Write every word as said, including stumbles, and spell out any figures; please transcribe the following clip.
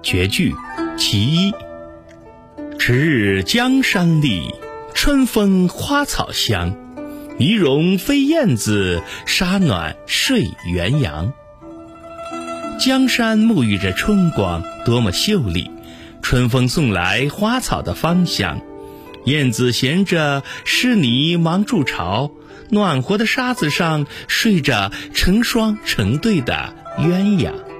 绝句其一。迟日江山丽，春风花草香。泥融飞燕子，沙暖睡元阳。江山沐浴着春光，多么秀丽！春风送来花草的芳香，燕子衔着湿泥忙筑巢，暖和的沙子上睡着成双成对的鸳鸯。